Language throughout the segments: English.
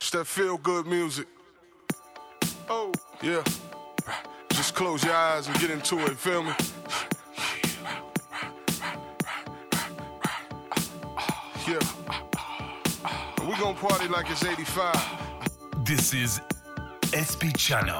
It's that feel-good music. Oh, yeah. Just close your eyes and get into it, feel me? Yeah. We gon' party like it's 85. This is SP Channel.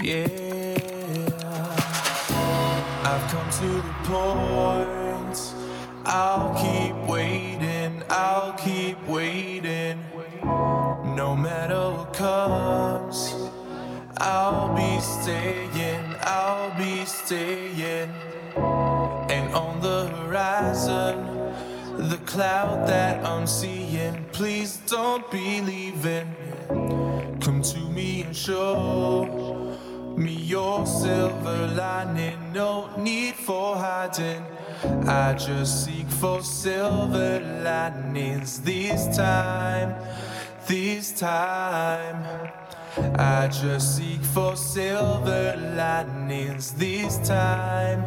I've come to the point. I'll keep waiting, I'll keep waiting. No matter what comes, I'll be staying, I'll be staying. And on the horizon, the cloud that I'm seeing, please don't be leaving. Come to me and show me your silver lining, no need for hiding. I just seek for silver linings this time. I just seek for silver linings this time.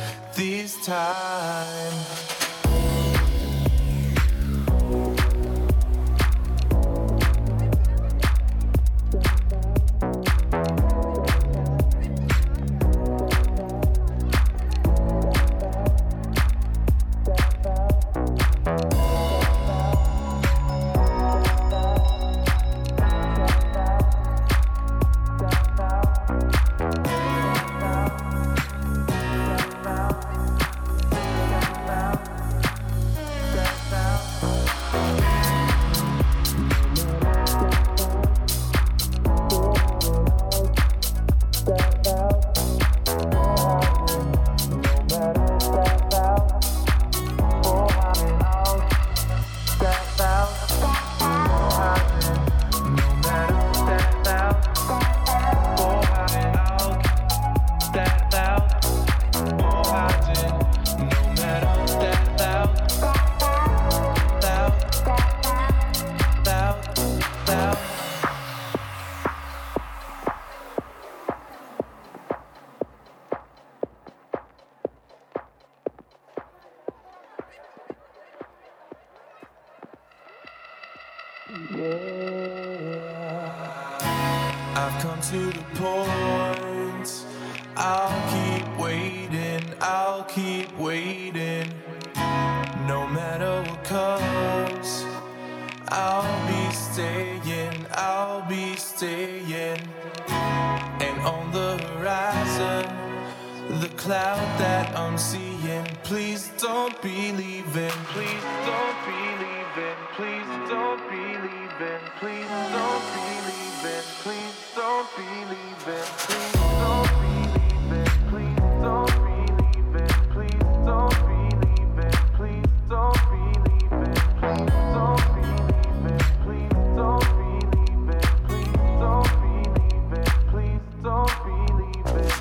I've come to the point. I'll keep waiting, I'll keep waiting. No matter what comes, I'll be staying, I'll be staying. And on the horizon, the cloud that I'm seeing, please don't be leaving, please don't be leaving, please don't be leaving, please don't be leaving, please don't be leaving, please don't be leaving, please don't be leaving, please don't be leaving, please don't be leaving, please don't be leaving, please don't be leaving, please don't be leaving, please don't be leaving,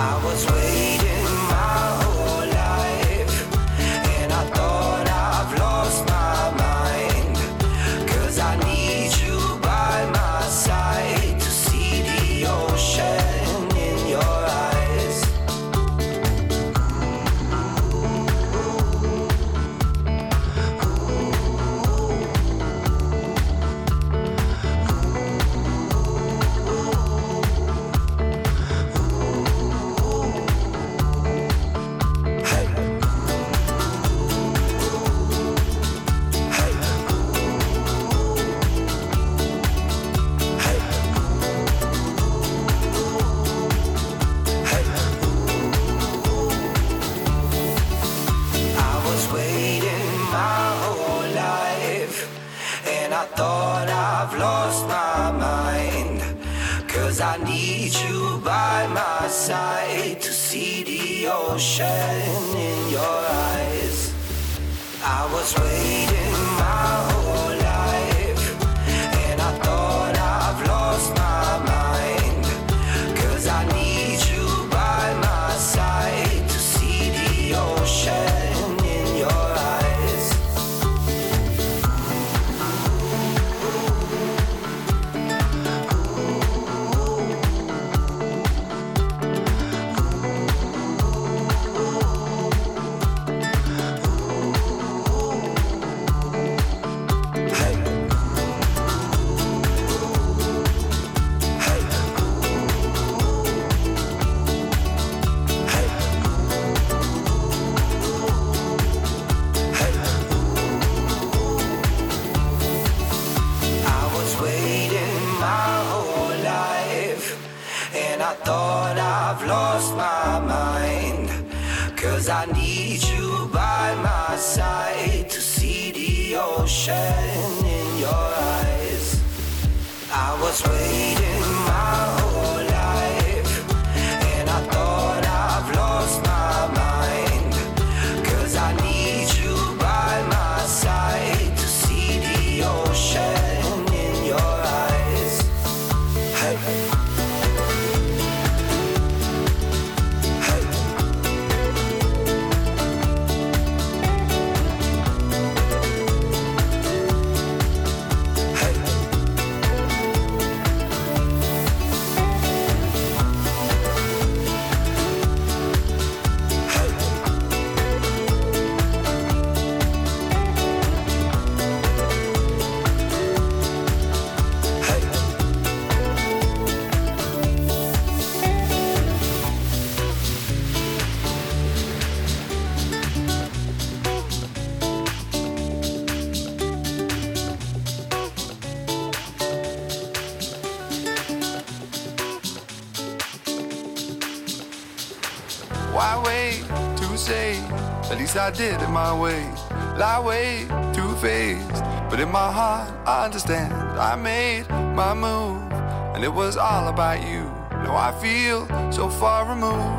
I did it my way, lie way too faced. But in my heart, I understand. I made my move, and it was all about you. Now I feel so far removed.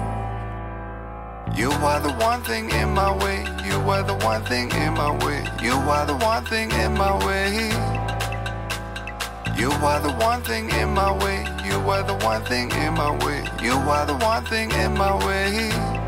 You are the one thing in my way. You were the one thing in my way. You are the one thing in my way. You are the one thing in my way. You were the one thing in my way. You are the one thing in my way.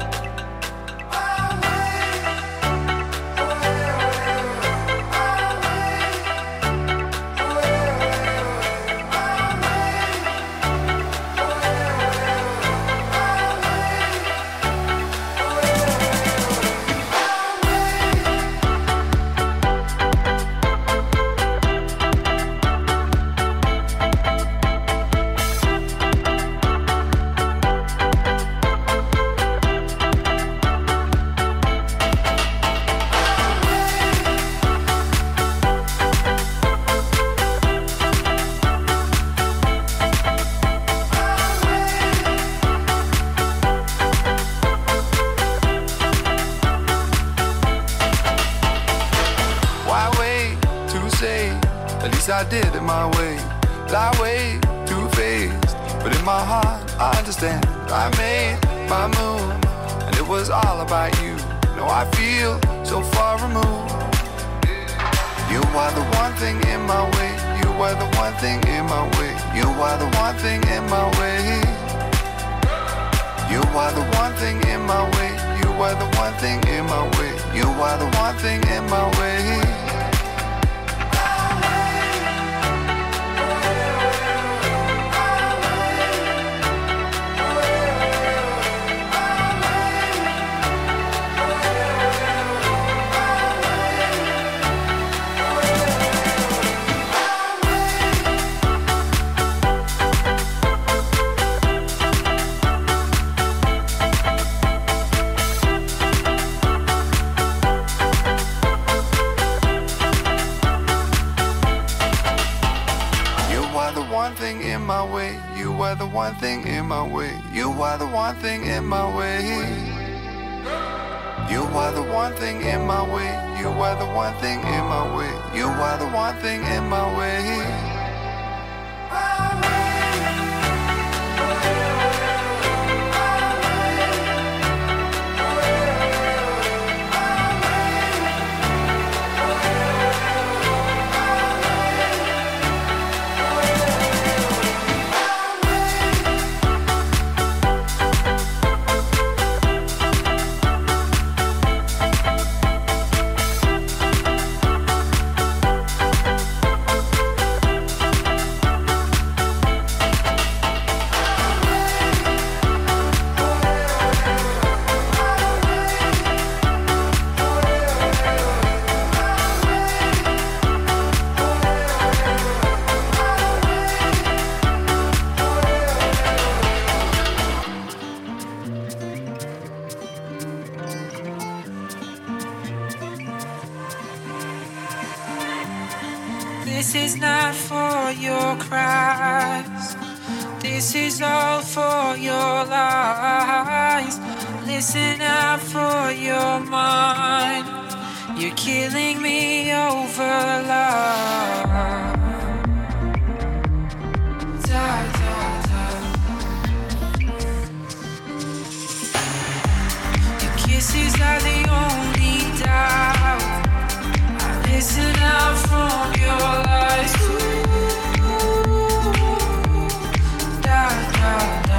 I did it my way, lie way too faced. But in my heart, I understand. I made my move, and it was all about you. No, I feel so far removed. You are the one thing in my way. You are the one thing in my way. You are the one thing in my way. You are the one thing in my way. You are the one thing in my way. You are the one thing in my way. One thing in my way, you are the one thing in my way. You are the one thing in my way. You are the one thing in my way. You are the one thing in my way. You are the one thing in my way. This is not for your cries. This is all for your lies. Listen out for your mind. You're killing me over love. Da, da, da. Your kisses are the only doubt. Listen out from your lies too. Da, da, da.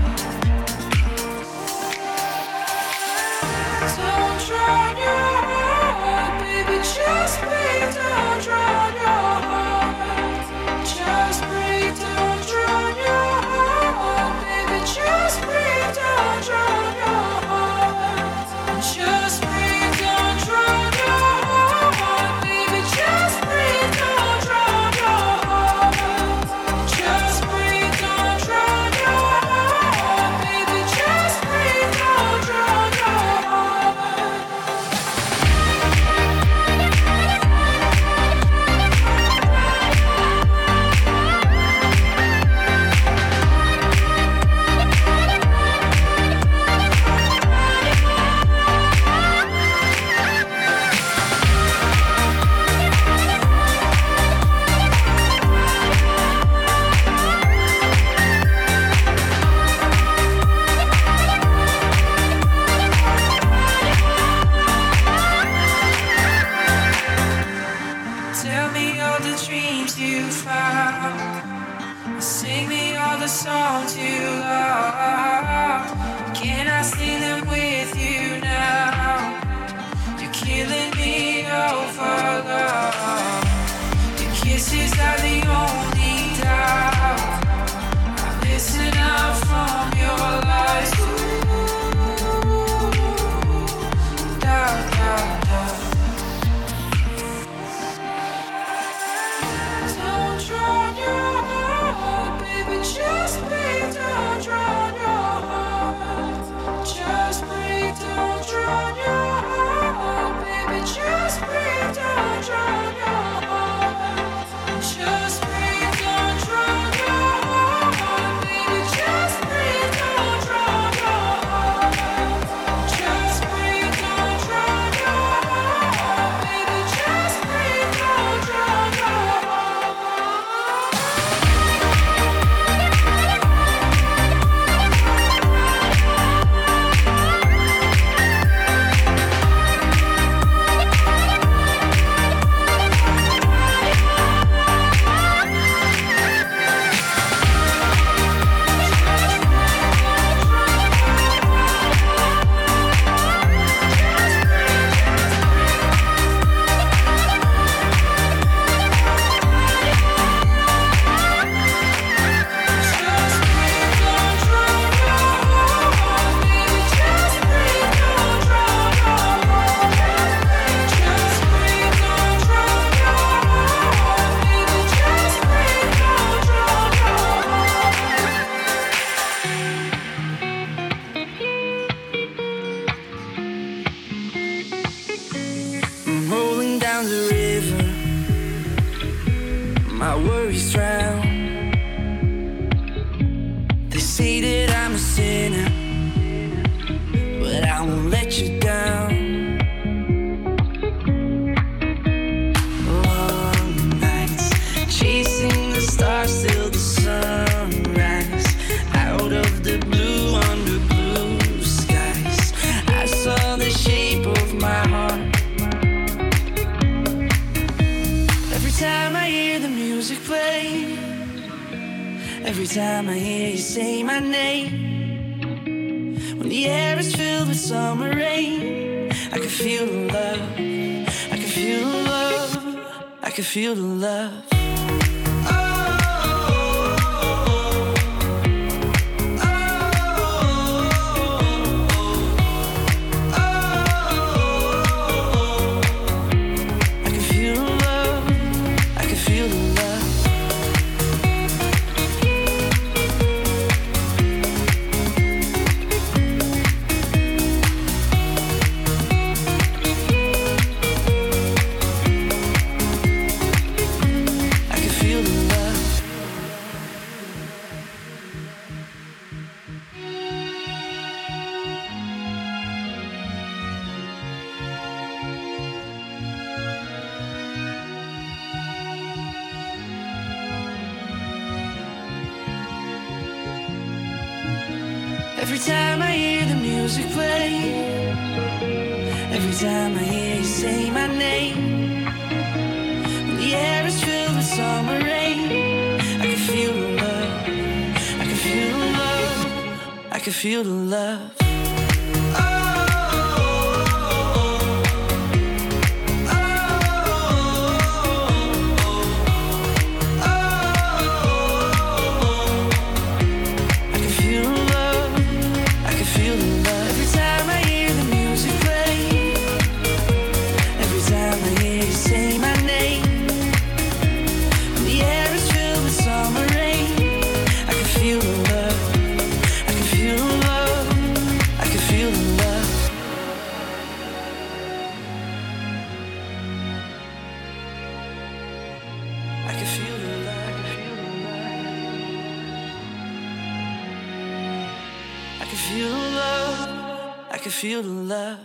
Don't drown your heart, baby, just breathe. Don't drown your heart. Just breathe, don't drown your heart, baby, just breathe. Don't drown your heart. Just breathe, don't drown your heart. Just breathe, don't drown your heart. Just breathe, don't drown your heart. Baby, just breathe, don't drown your heart. Tell me all the dreams you found. Sing me all the songs you love. Can I sing them with you now? You're killing me over love. Your kisses are the only doubt. I listen out from your lies too. Da, da, da. Don't drown your heart, baby, just breathe. Don't drown your heart. say that I'm a sinner, but I won't let you down. Long nights chasing the stars till the sunrise. Out of the blue, under blue skies, I saw the shape of my heart. Every time I hear the music play, every time I hear you say my name, when the air is filled with summer rain, I can feel the love, I can feel the love, I can feel the love. Every time I hear the music play, every time I hear you say my name, when the air is filled with summer rain, I can feel the love, I can feel the love, I can feel the love. I can feel the love.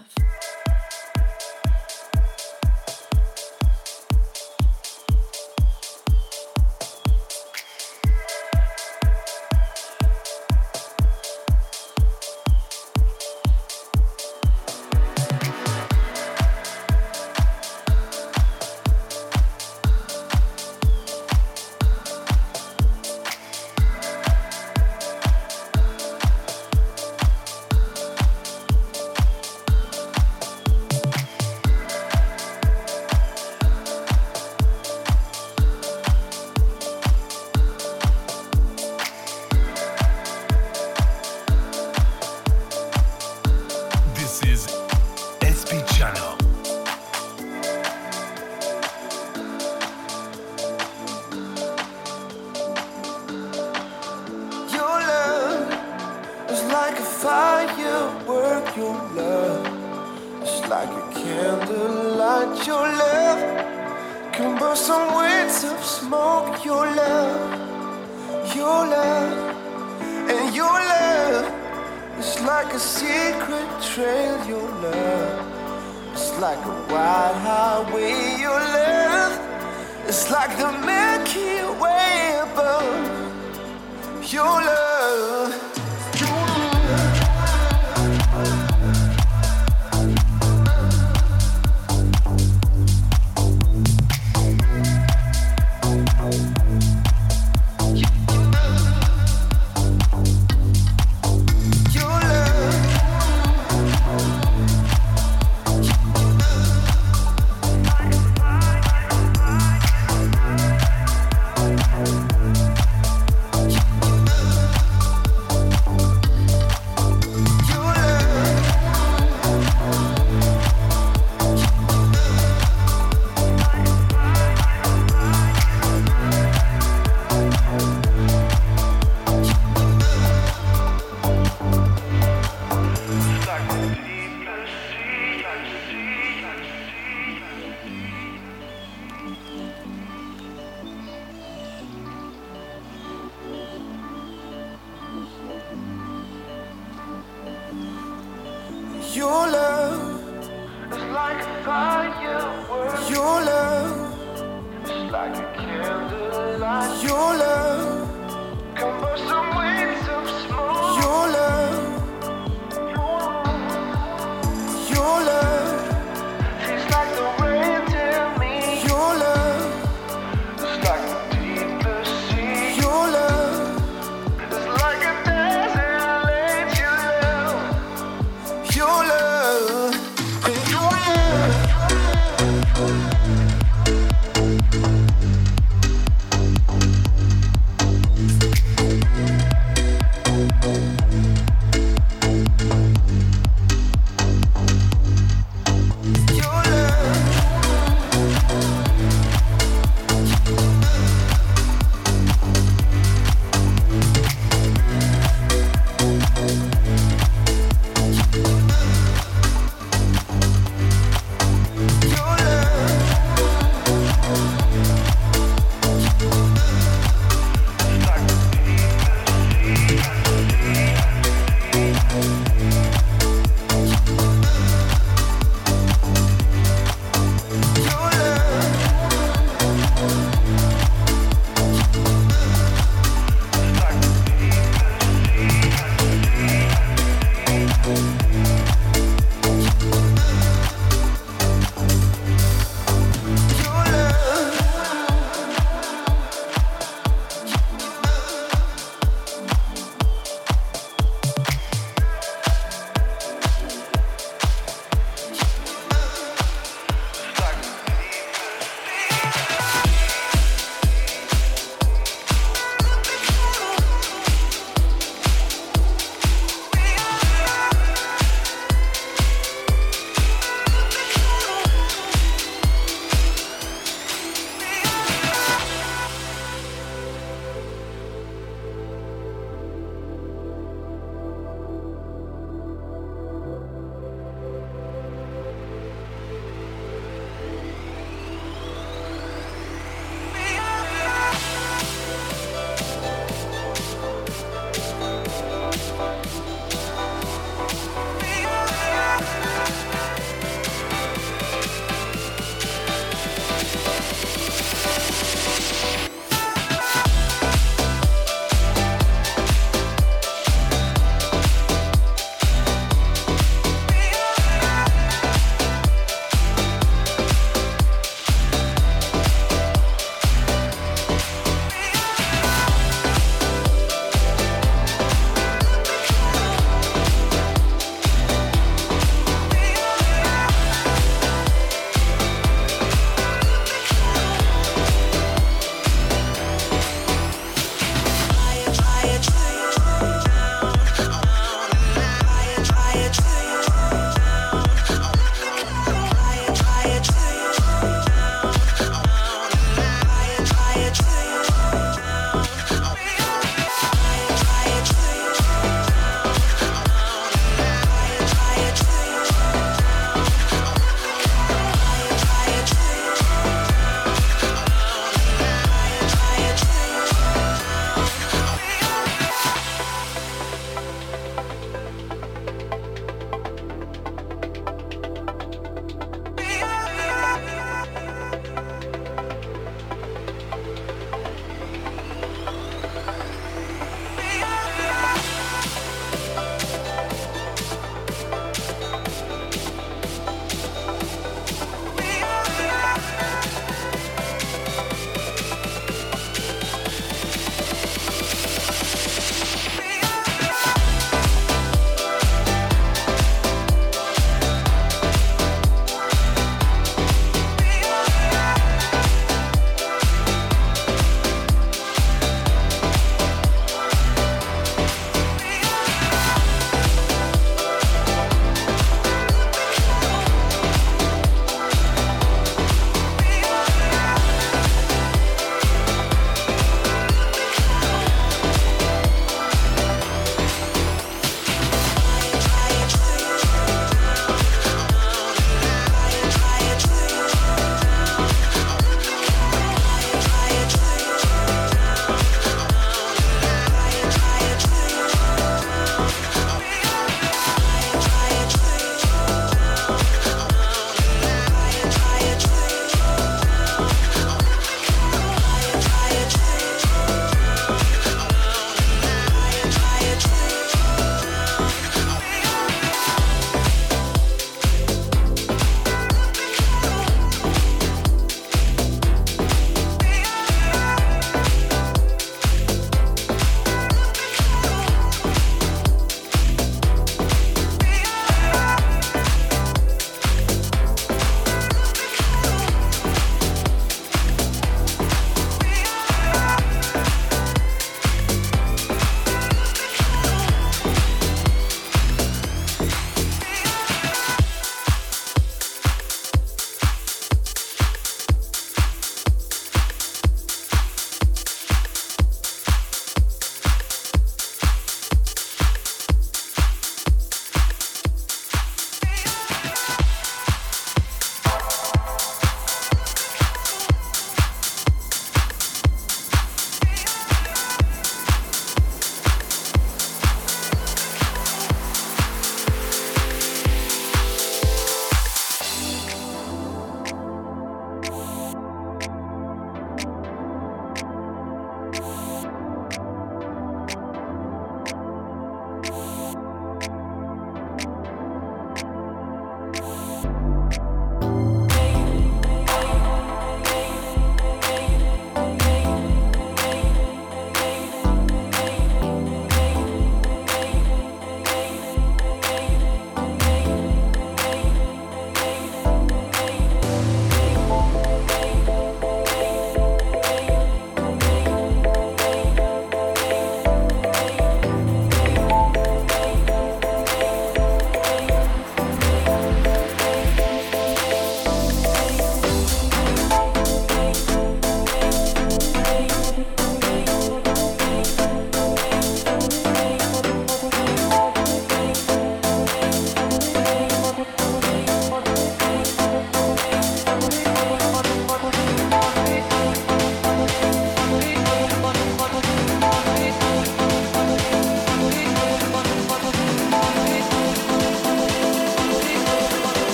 Your love It's like a firework. Your love It's like a candlelight. Your love Come burst some waves of smoke. Your love Your love Feels like the rain to me. Your love It's like the deepest sea. Your love It's like a desert laid you low. Your love Your love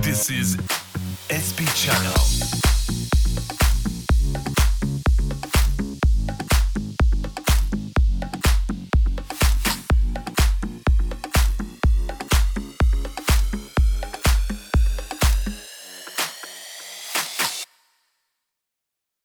This is SP Channel.